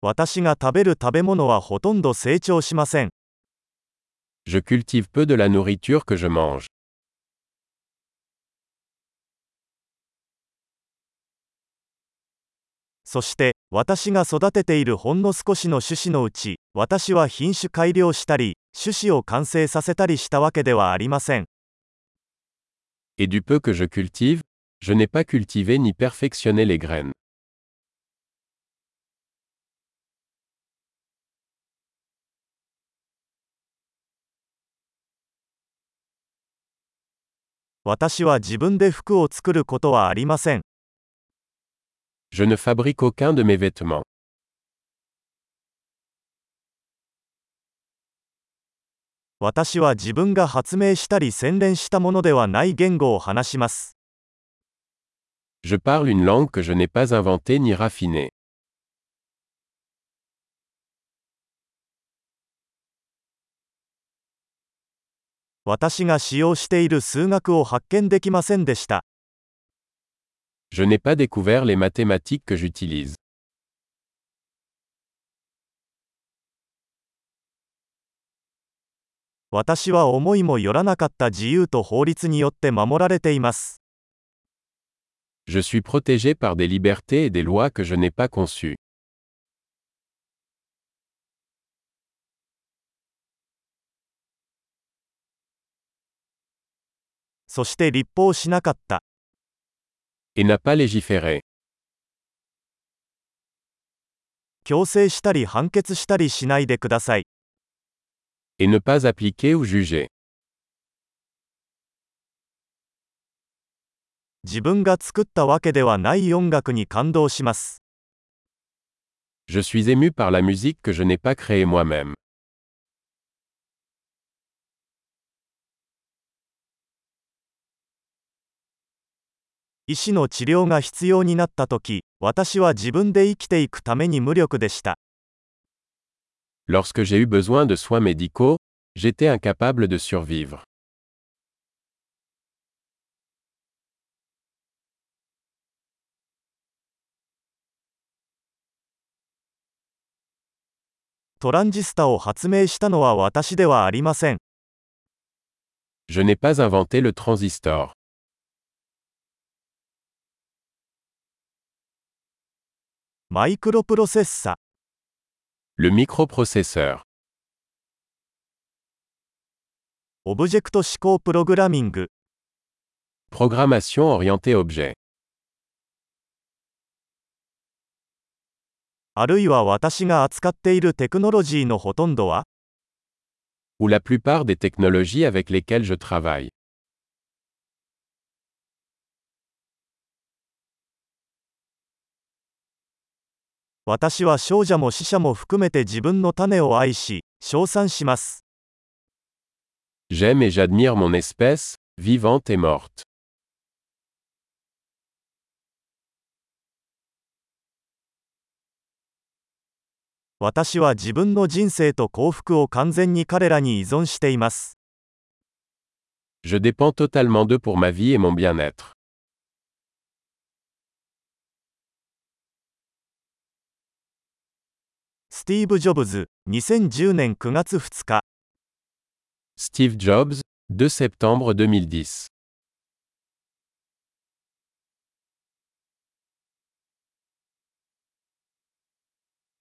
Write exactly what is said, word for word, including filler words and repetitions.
私が食べる食べ物はほとんど成長しません。 Je cultive peu de la nourriture que je mange. そして、私が育てているほんの少しの種子のうち、私は品種改良したり、種子を完成させたりしたわけではありません。 Et du peu que je cultive, je n'ai pas cultivé ni perfectionné les graines. 私は自分で服を作ることはありません。 Je ne fabrique aucun de mes vêtements. 私は自分が発明したり洗練したものではない言語を話します。 Je parle une langue que je n'ai pas inventée ni raffinée. 私が使用している数学を発見できませんでした。 Je n'ai pas découvert les mathématiques que j'utilise. 私は思いもよらなかった自由と法律によって守られています。 Je suis protégé par des libertés et des lois que je n'ai pas conçues. そして立法しなかった。 Et n'a pas légiféré. 強制したり判決したりしないでください。 Et ne pas appliquer ou juger. 自分が作ったわけではない音楽に感動します。 Je suis ému par la musique que je n'ai pas créée moi-même. 医師の治療が必要になったとき、私は自分で生きていくために無力でした。 Lorsque j'ai eu besoin de soins médicaux, j'étais incapable de survivre. トランジスタを発明したのは私ではありません。 Je n'ai pas inventé le transistor. マイクロプロセッサ。 Le microprocesseur. オブジェクト指向プログラミング。 Programmation orientée objet. あるいは私が扱っているテクノロジーのほとんどは Ou la plupart des technologies avec lesquelles je travaille. 私は少者も死者も含めて自分の種を愛し、称賛します。 J'aime et j'admire mon espèce, vivante et morte. 私は自分の人生と幸福を完全に彼らに依存しています。 Je dépends totalement d'eux pour ma vie et mon bien-être. スティーブ・ジョブズ、にせんじゅうねんくがつふつか。 Steve Jobs, deux septembre deux mille dix.